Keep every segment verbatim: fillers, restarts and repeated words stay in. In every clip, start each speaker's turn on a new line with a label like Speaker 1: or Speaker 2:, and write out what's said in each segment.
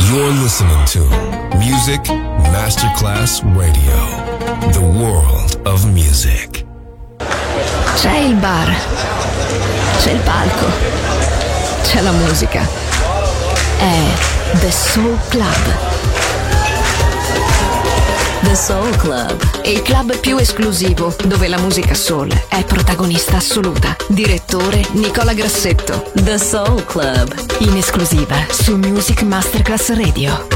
Speaker 1: You're listening to Music Masterclass Radio, the world of music.
Speaker 2: C'è il bar, c'è il palco, c'è la musica. È The Soul Club. The Soul Club, il club più esclusivo dove la musica soul è protagonista assoluta. Direttore Nicola Grassetto. The Soul Club, in esclusiva su Music Masterclass Radio.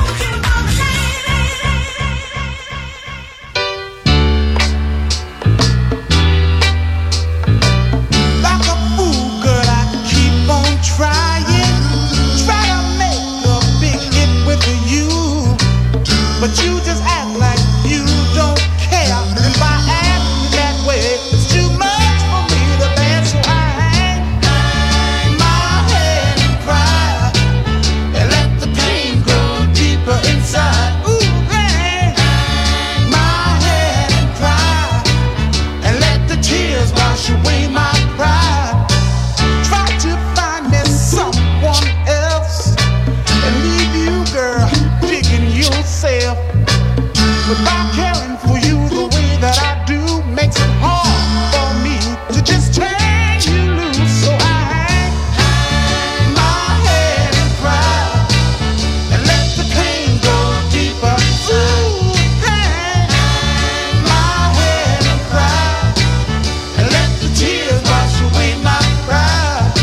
Speaker 3: But you just act like you don't care. If I act that way, it's too much for me to bear. So I hang, hang my head and cry, and let the pain go deeper inside. Ooh, hang, hang my head and cry, and let the tears wash away my pride. Try to find me someone else and leave you, girl, digging yourself. Without caring for you the way that I do, makes it hard for me to just turn you loose. So I hang, hang my head and cry, and let the pain go deeper. Ooh, hang, hang my head and cry, and let the tears wash away my pride.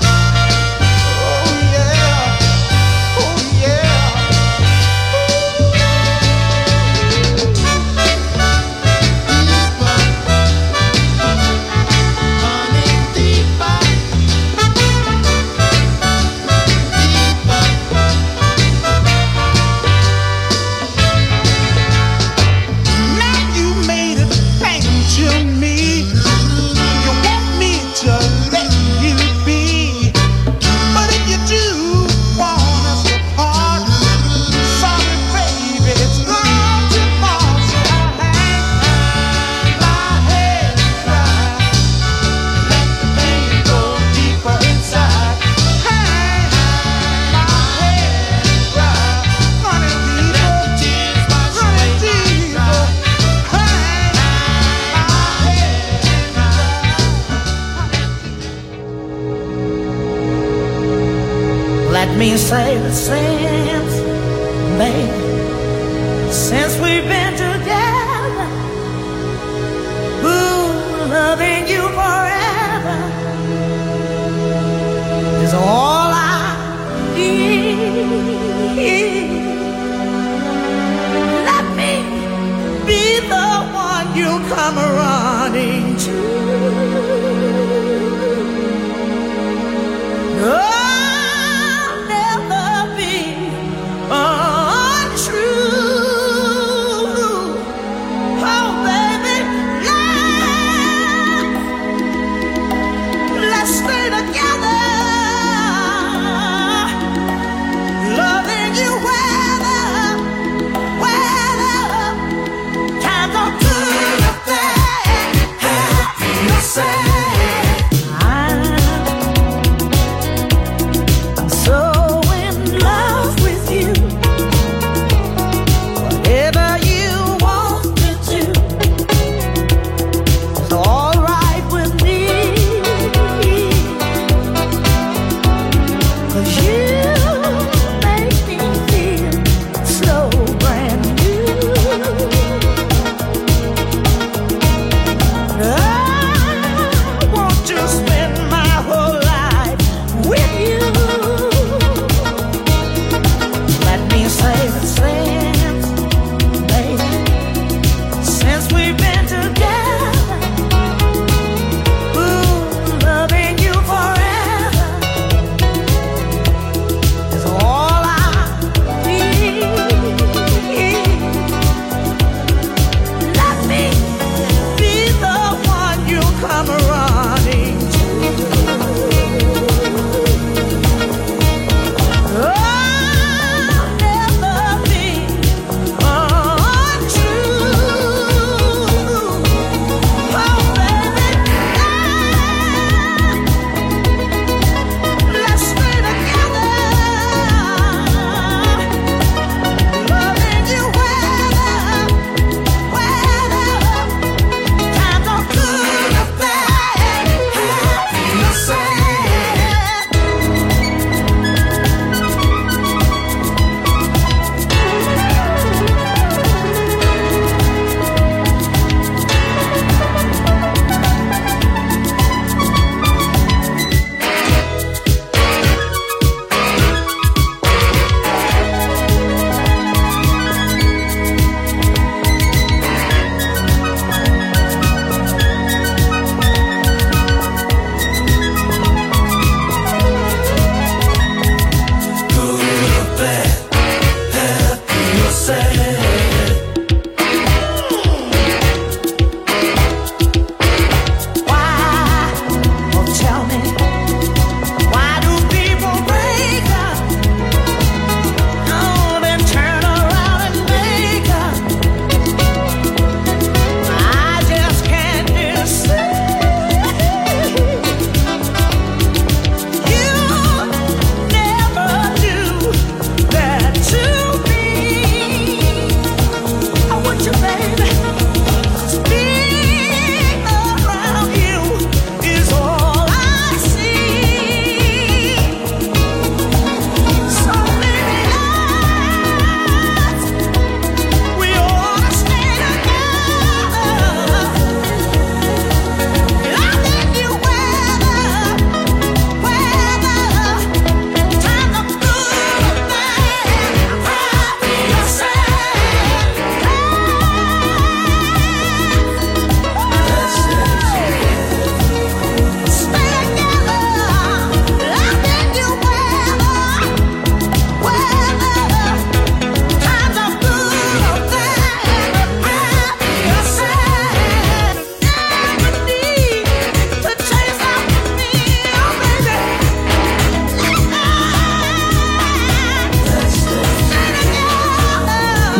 Speaker 3: Oh yeah, oh yeah.
Speaker 4: Let me say that since, babe, since we've been together, ooh, loving you forever is all I need. Let me be the one you come running to. Oh,
Speaker 3: Hey!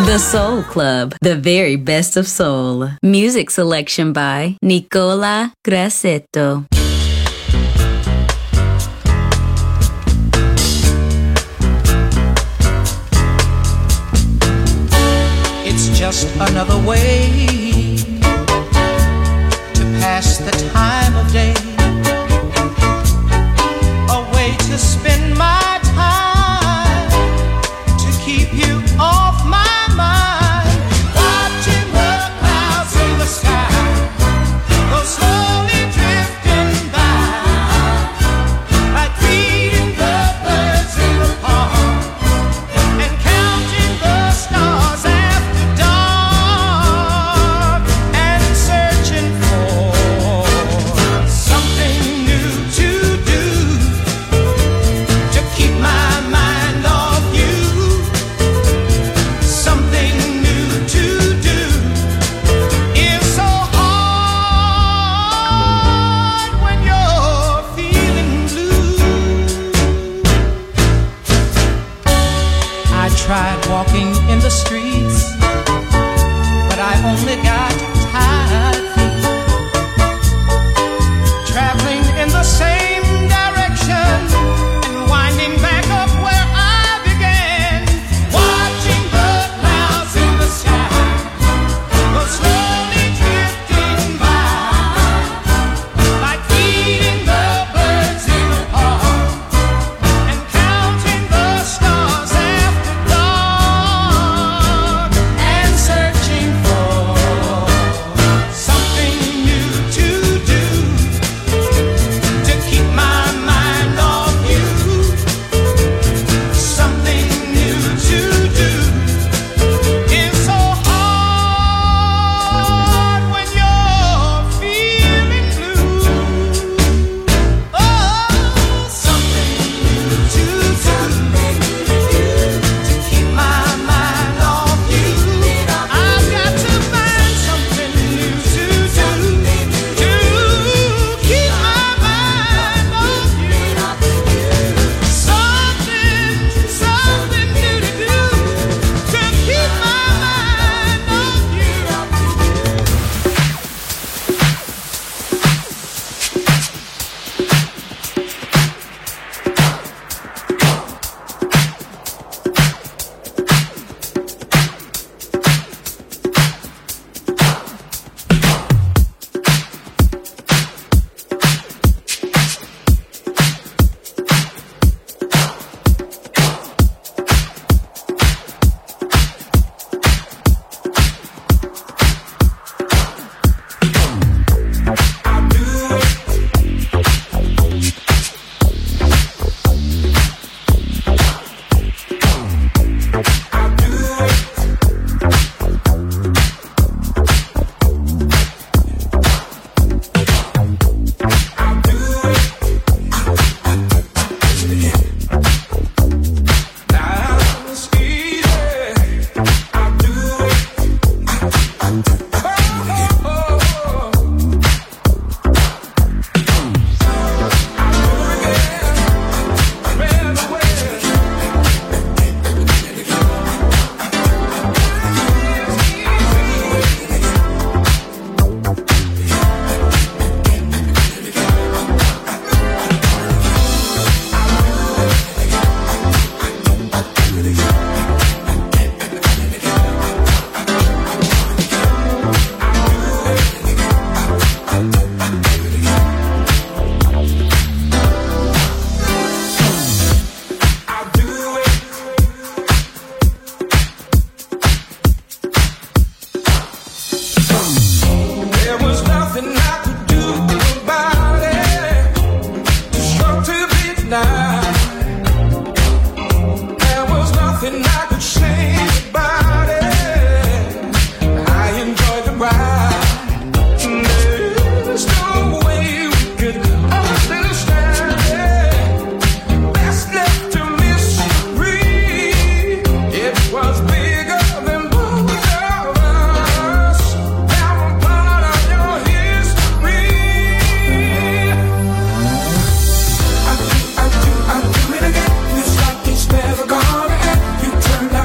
Speaker 2: The Soul Club, the very best of soul. Music selection by Nicola Grassetto.
Speaker 5: It's just another way to pass the time of day, a way to spend my time, to keep you off my mind, watching the clouds in the sky go slowly drifting by, like feeding the birds in the park and counting the stars after dark, and searching for something new to do, to keep my mind off you. Something new to do is so hard when you're feeling blue. I tried walking in the streets, but I only got tired feet, traveling in the same direction and winding back up where I began, watching the clouds in the sky go slowly drifting by, like feeding the birds in the park and counting the stars after dark, and searching for something new to do, to keep my mind off you. Something new to do is so hard when you're feeling blue. Oh, something new to do, to keep my mind off you. I've got to find something new to do, to keep my mind off you. Something, something new to do, to keep my mind off you. There was nothing I could do about it. Too strong to be denied. There was nothing I could say about it. I enjoyed the ride. There's no way we could understand it. Best left to mystery. It was bigger than both of us. Now I'm part of your history. I do, I do, I do it again. It's like it's never gonna end. You turn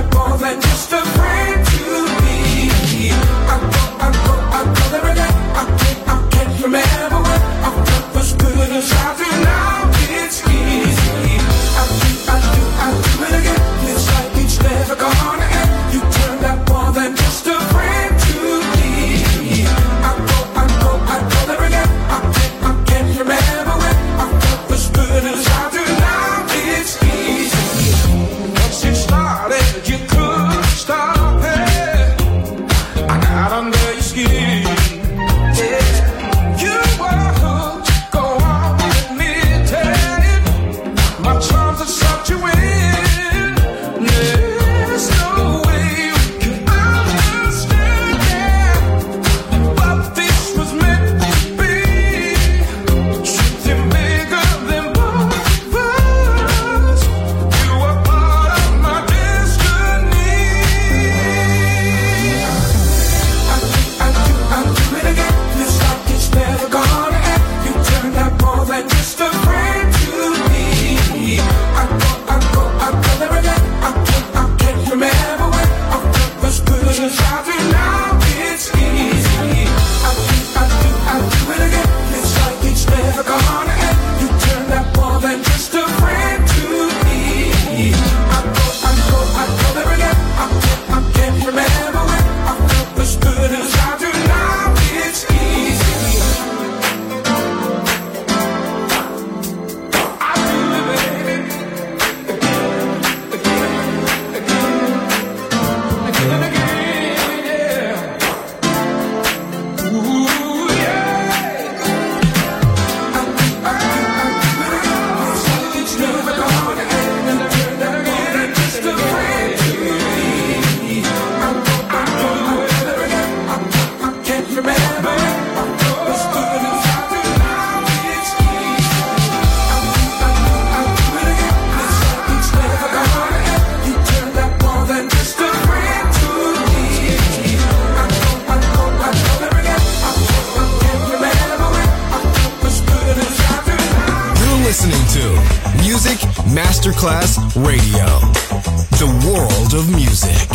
Speaker 1: Masterclass Radio, the world of music.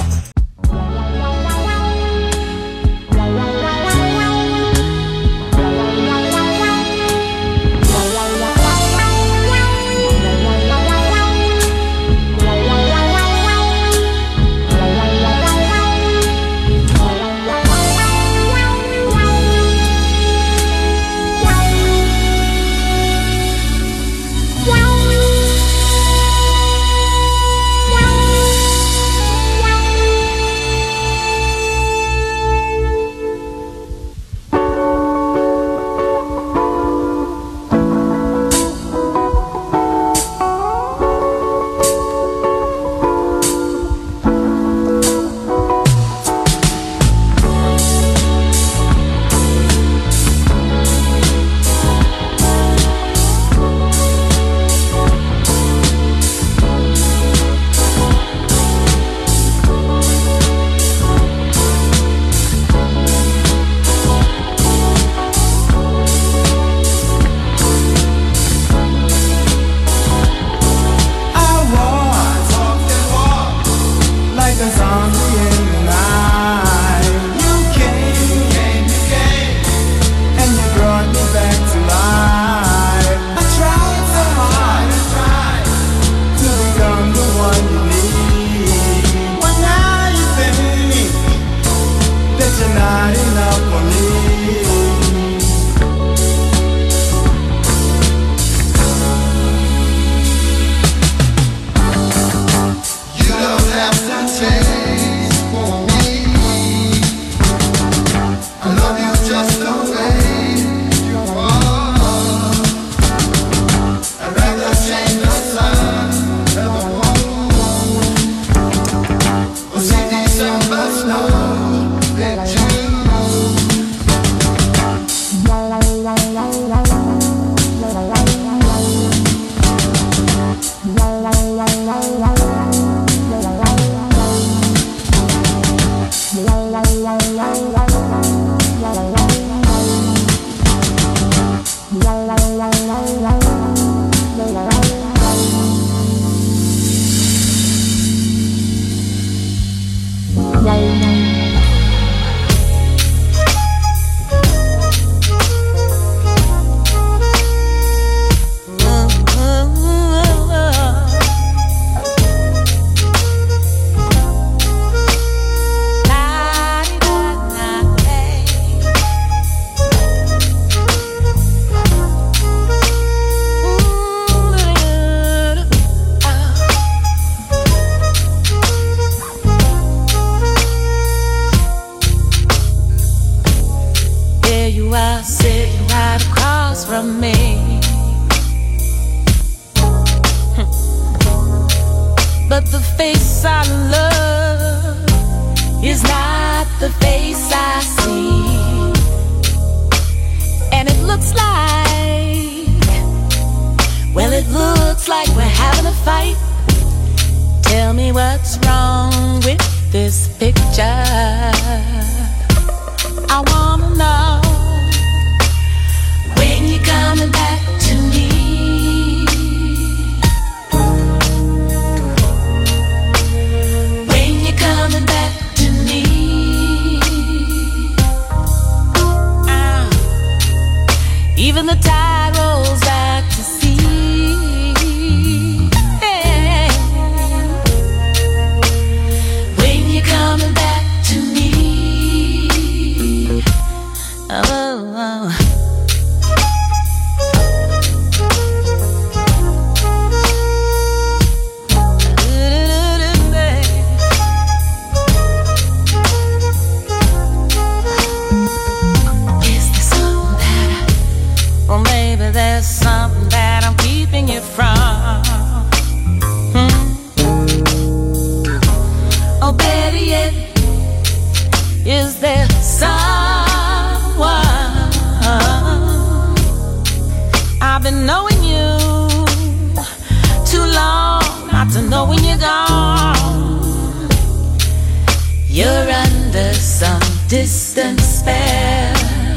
Speaker 6: Distant spell.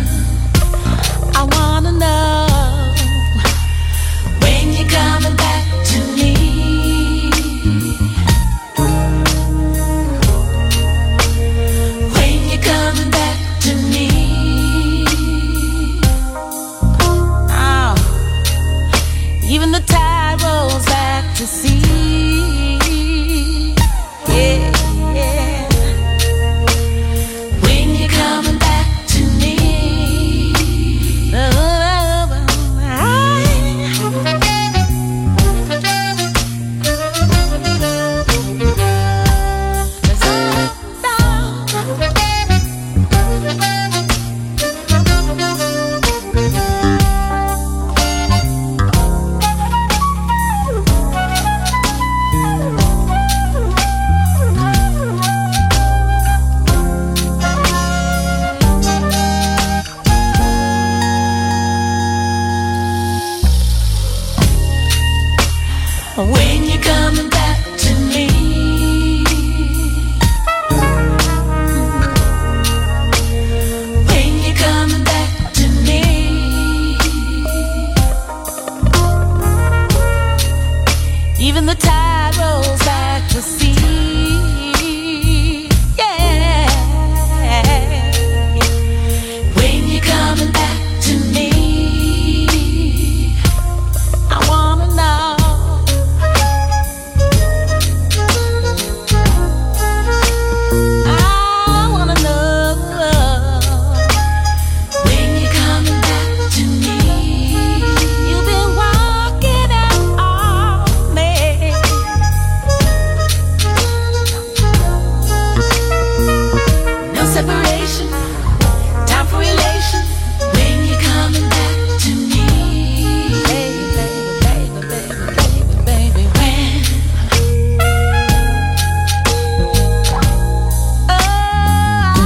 Speaker 6: I wanna know when you're coming back to me.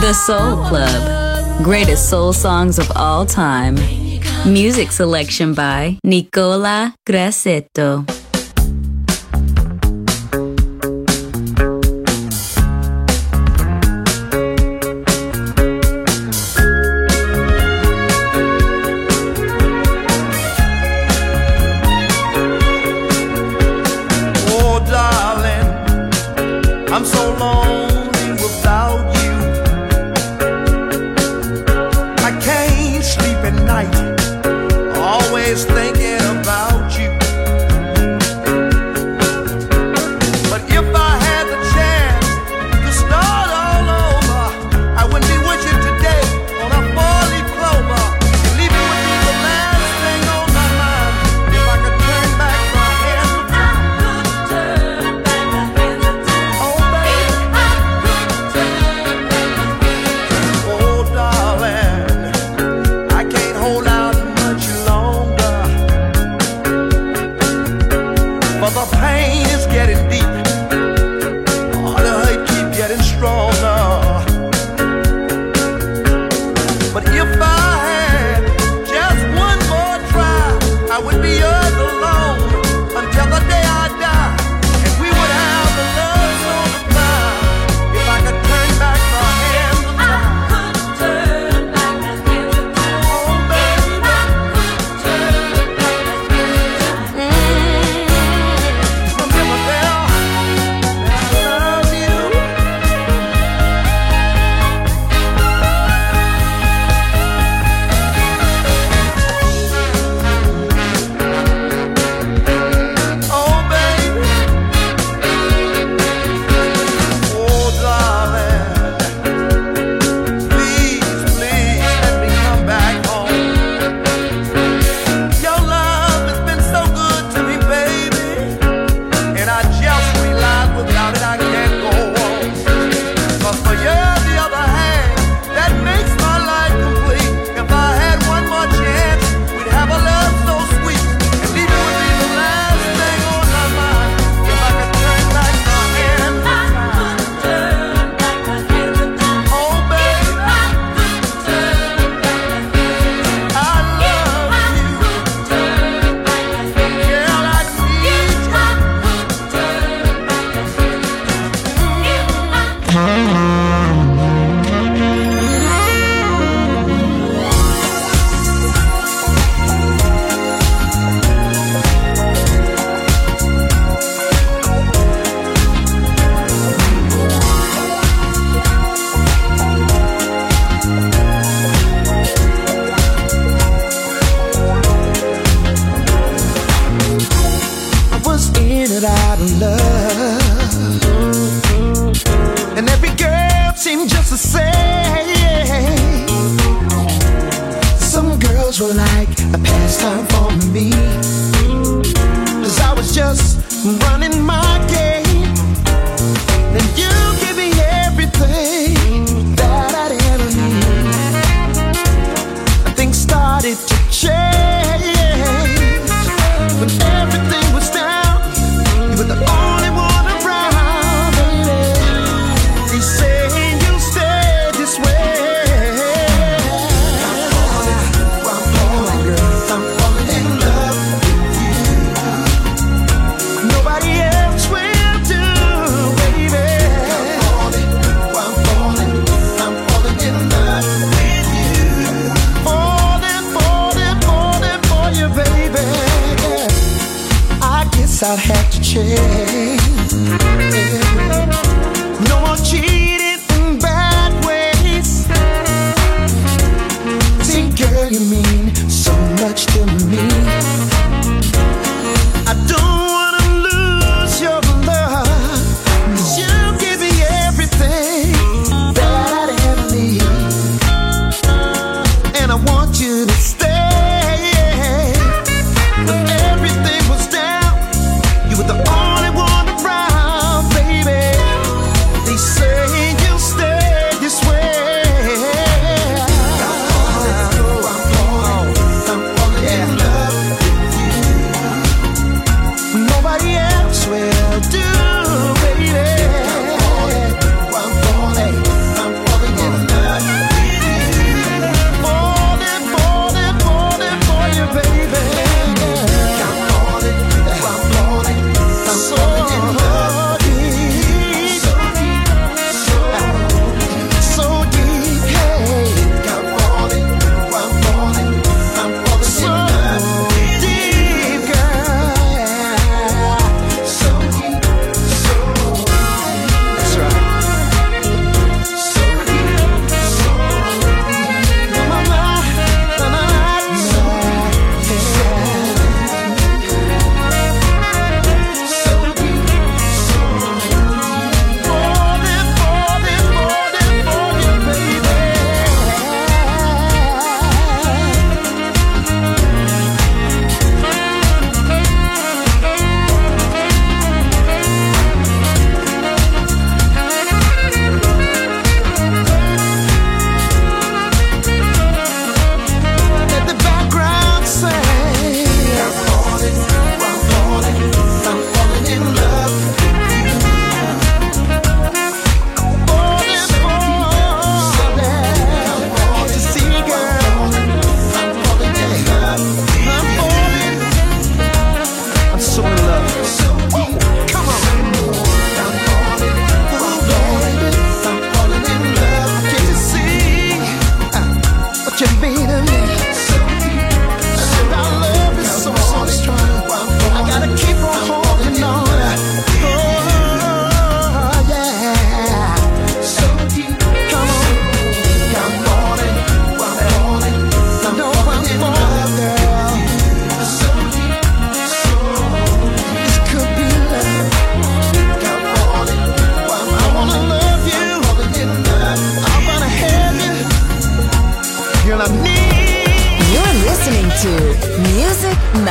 Speaker 7: The Soul Club. Greatest soul songs of all time. Music selection by Nicola Grassetto.
Speaker 3: Oh, darling, I'm so lonely without you. I can't sleep at night, always thinking about you. But if I had the chance to start all over, I wouldn't be with you today on a four-leaf clover. Leaving would be the last thing on my mind. If I could turn back my hands, oh baby,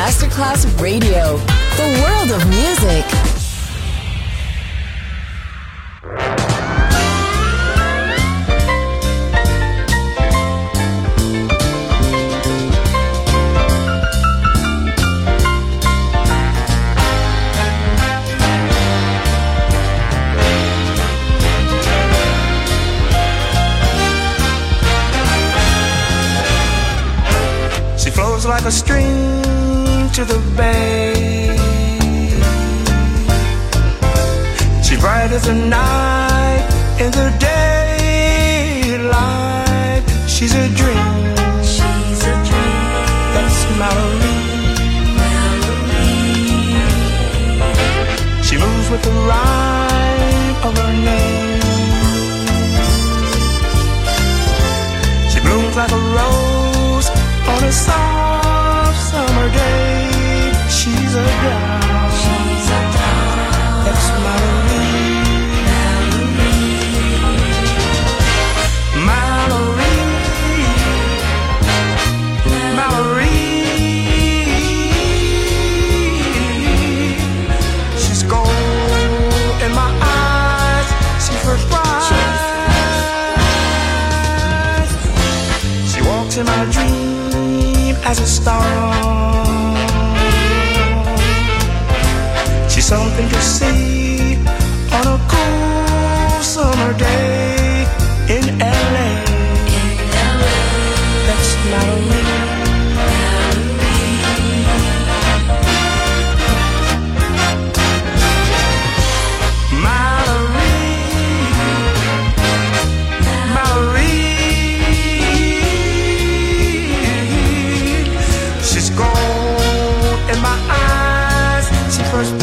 Speaker 2: Masterclass Radio, the world of music.
Speaker 3: Like a stream to the bay, she's bright as the night in the daylight. She's a dream, she's a dream. That's Mallory. She moves with the rhyme of her name. She blooms like a rose on a soft summer day. She's a doll. She's a doll. That's Mallory. Mallory. Mallory. She's gold in my eyes. She's first prize. She walks in my dream as a star. She's something to see on a cool summer day in L A. In L A. That's Mallory. First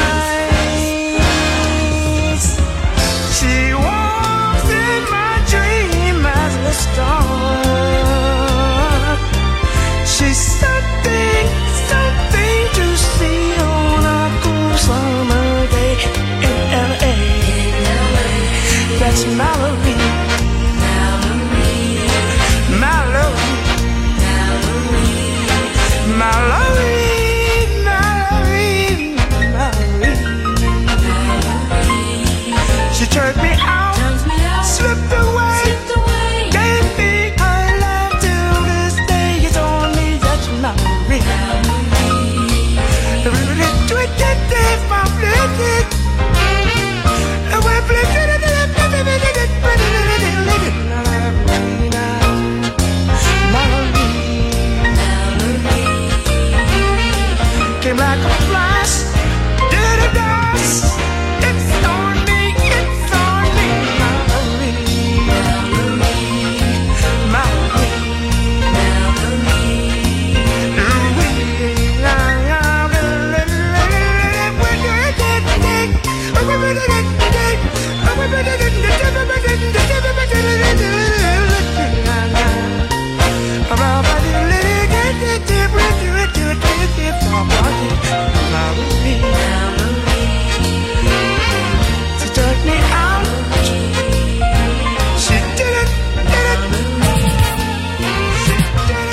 Speaker 3: prize. She walks in my dream as a star. She's something, something to see on a cool summer day in L A. That's Mallory. Mallory. Mallory. Mallory. She turned me out, slipped away, slipped away, gave me her love till this day. It's only that Mallory. Came like a flash, did a dance. It's on me, it's on me, Mallory. Mallory. She took me out. She did it, did it. She did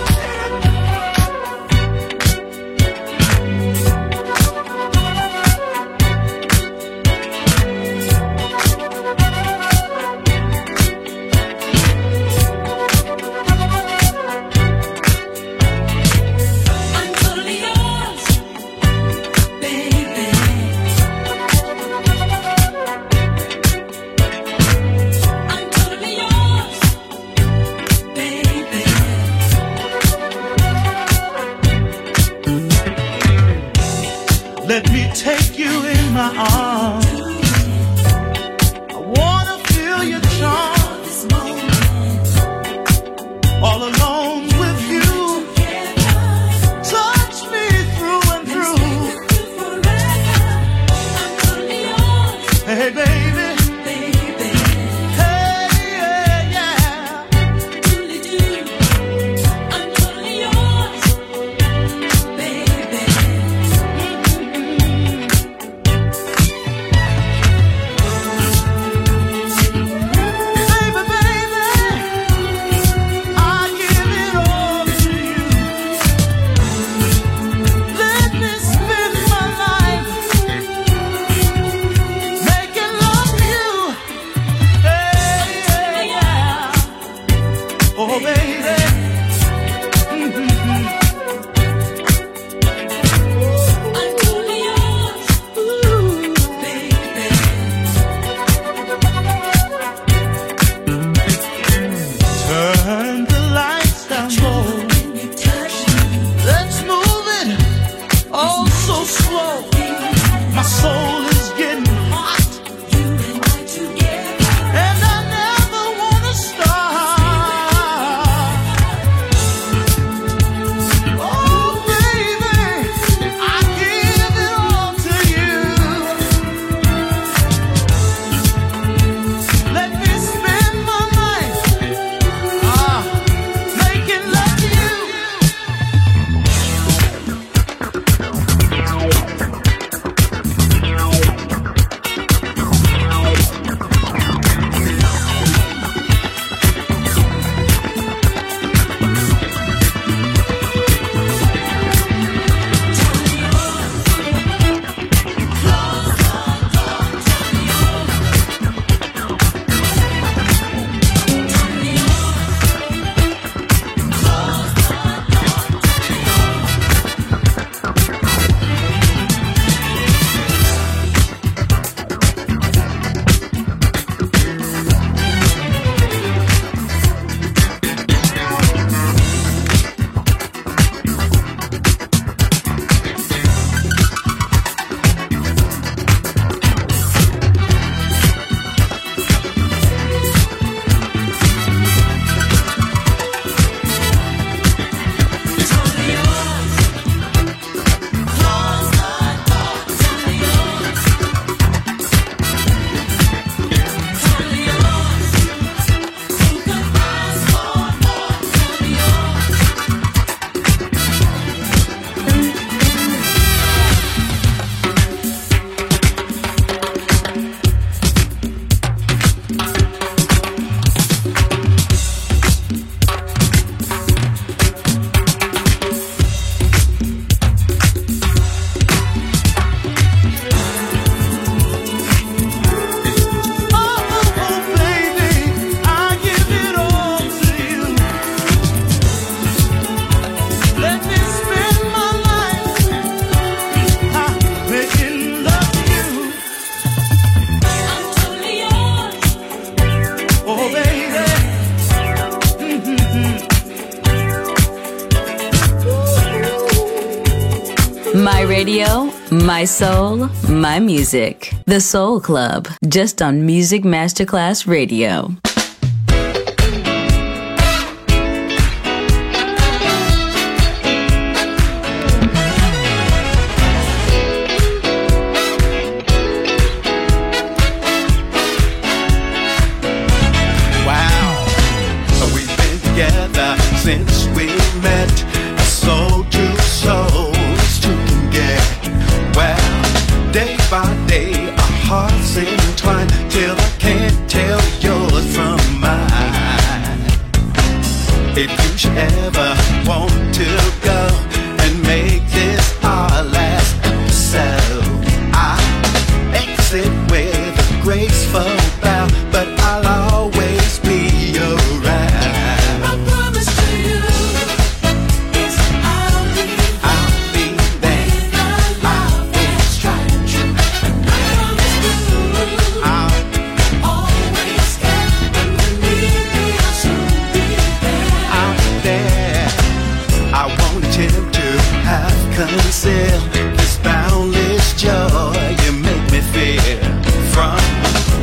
Speaker 6: I'm totally yours, baby. I'm totally yours, baby.
Speaker 3: Let me take you in my arms. I wanna feel your charm.
Speaker 6: This moment,
Speaker 3: All alone with you. Touch me through and through.
Speaker 6: forever. I'm totally yours,
Speaker 3: Hey, baby.
Speaker 6: baby.
Speaker 3: Hey, yeah, yeah.
Speaker 6: Truly do. I'm totally yours, baby.
Speaker 3: Baby, baby, I give it all to you.
Speaker 7: My radio, my soul, my music. The Soul Club, just on Music Masterclass Radio.
Speaker 8: Wow, we've been together since we met. Soul to soul, two can get. Well, day by day, our hearts entwine till I can't tell yours from mine. If you should ever want to go and make this our last episode, I exit with a graceful bow, but I'll always be around.
Speaker 6: I promise to you is I'll be
Speaker 8: I'll be there.
Speaker 6: with our love is tried and true. And I promise to
Speaker 8: I'll
Speaker 6: always care. When you need me, I'll soon be there.
Speaker 8: out there. I won't attempt to have conceal this boundless joy you make me feel. From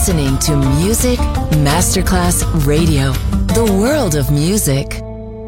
Speaker 2: listening to Music Masterclass Radio, the world of music.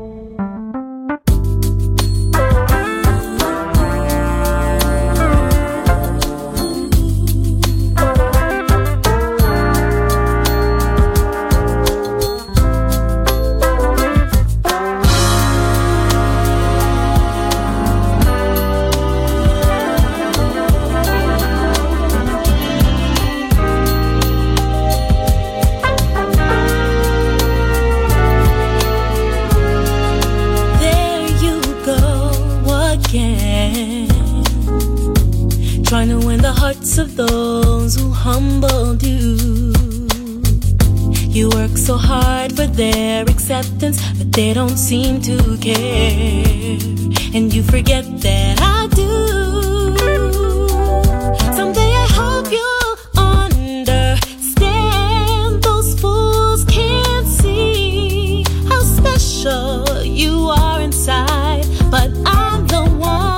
Speaker 9: Of those who humbled you. You work so hard for their acceptance, but they don't seem to care. And you forget that I do. Someday I hope you'll understand. Those fools can't see how special you are inside, but I'm the one.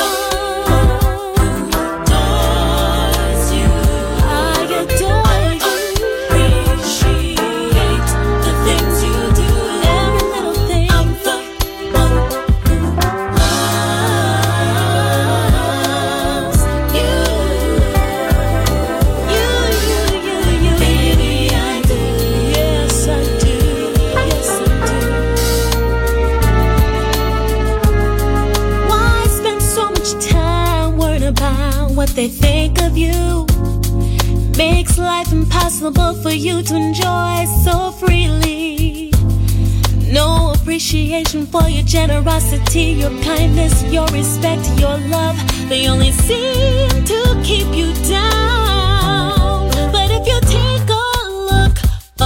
Speaker 9: What they think of you makes life impossible for you to enjoy so freely. No appreciation for your generosity, your kindness, your respect, your love. They only seem to keep you down. But if you take a look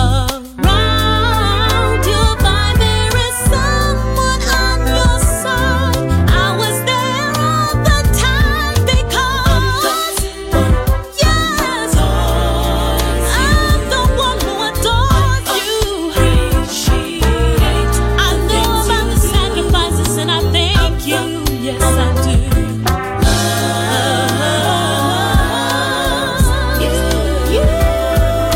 Speaker 9: around, you'll find there is someone on your side. I was there all the time because yes, I'm the one who adores you. I know about the sacrifices and I thank you. Yes, I do. You, you.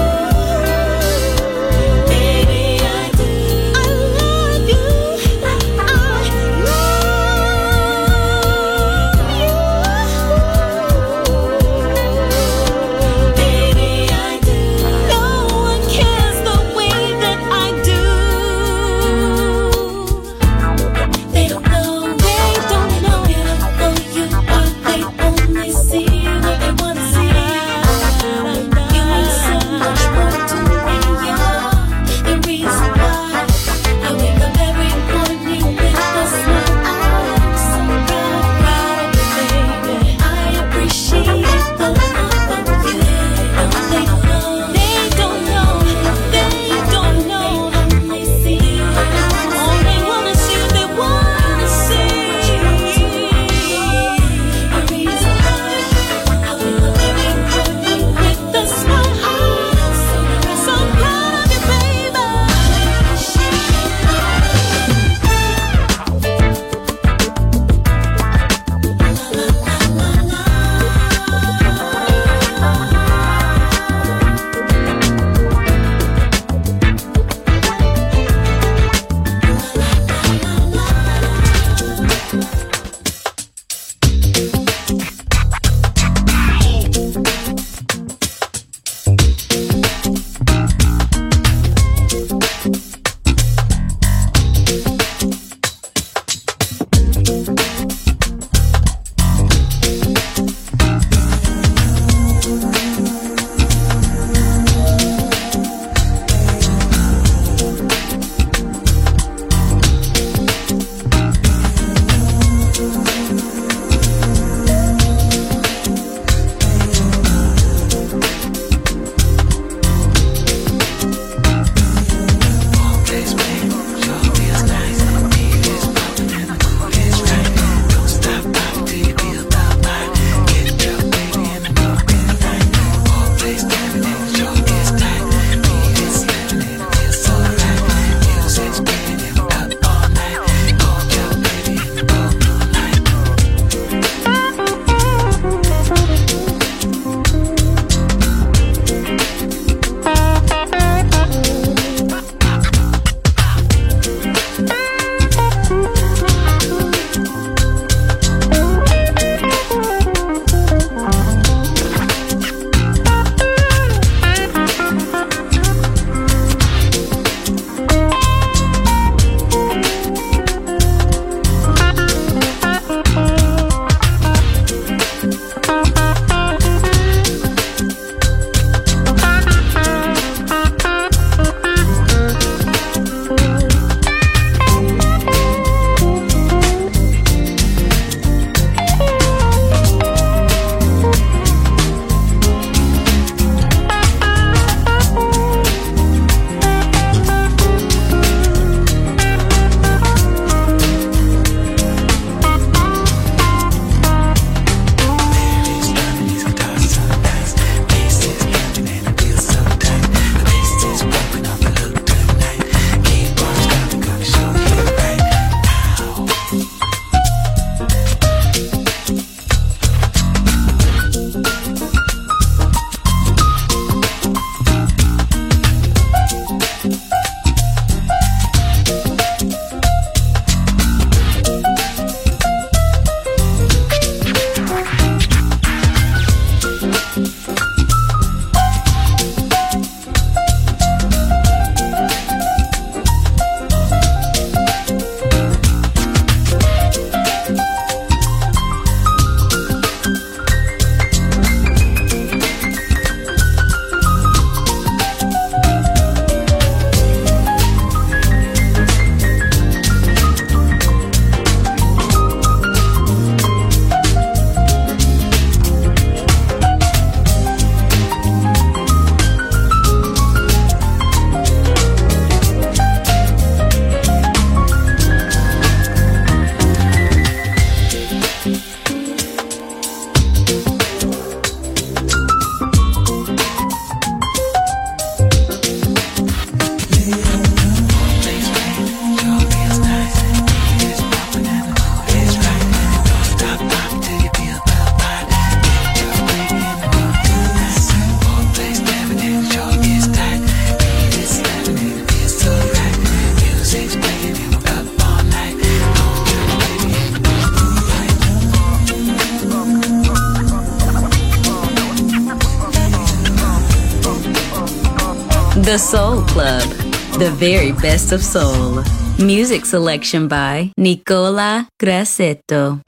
Speaker 7: The Soul Club, the very best of soul. Music selection by Nicola Grassetto.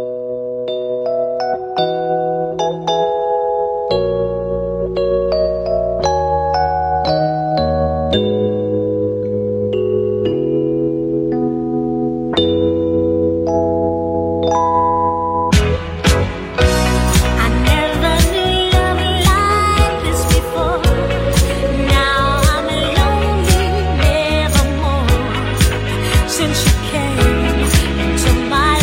Speaker 9: Since you came into my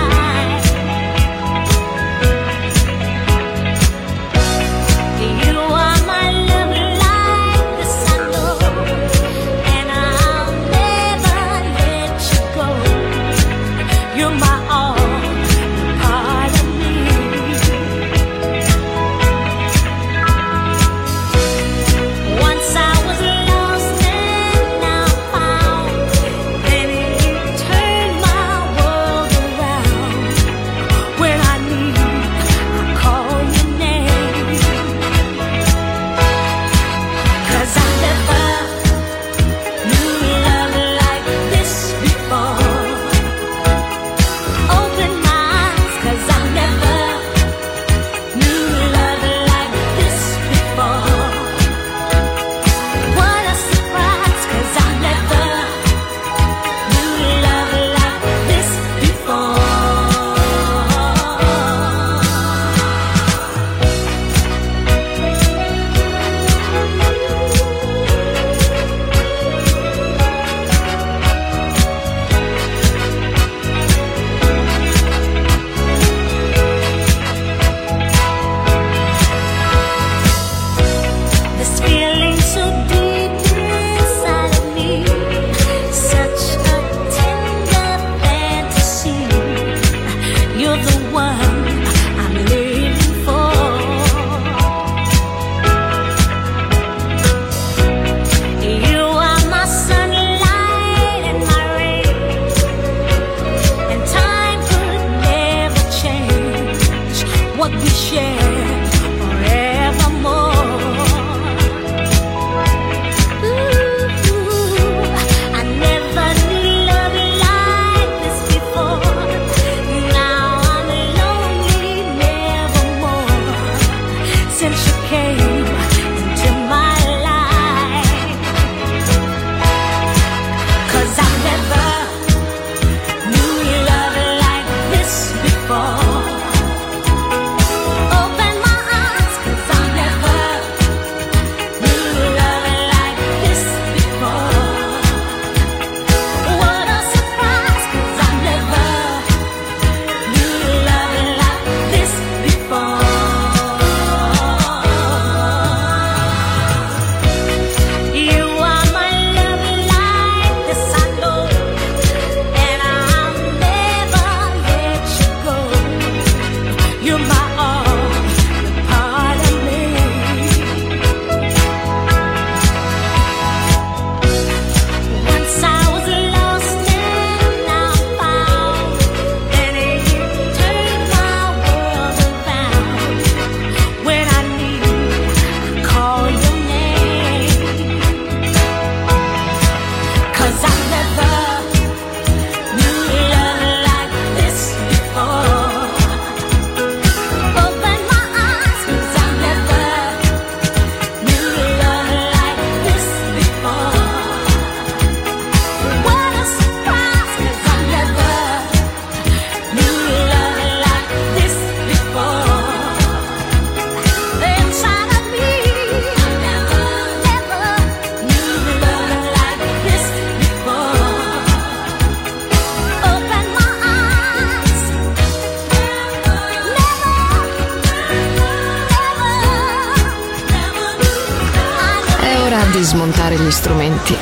Speaker 2: di smontare gli strumenti,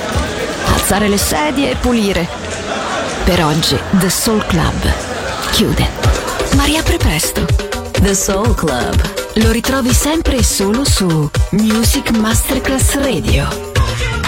Speaker 2: alzare le sedie e pulire. Per oggi The Soul Club chiude, ma riapre presto. The Soul Club lo ritrovi sempre e solo su Music Masterclass Radio.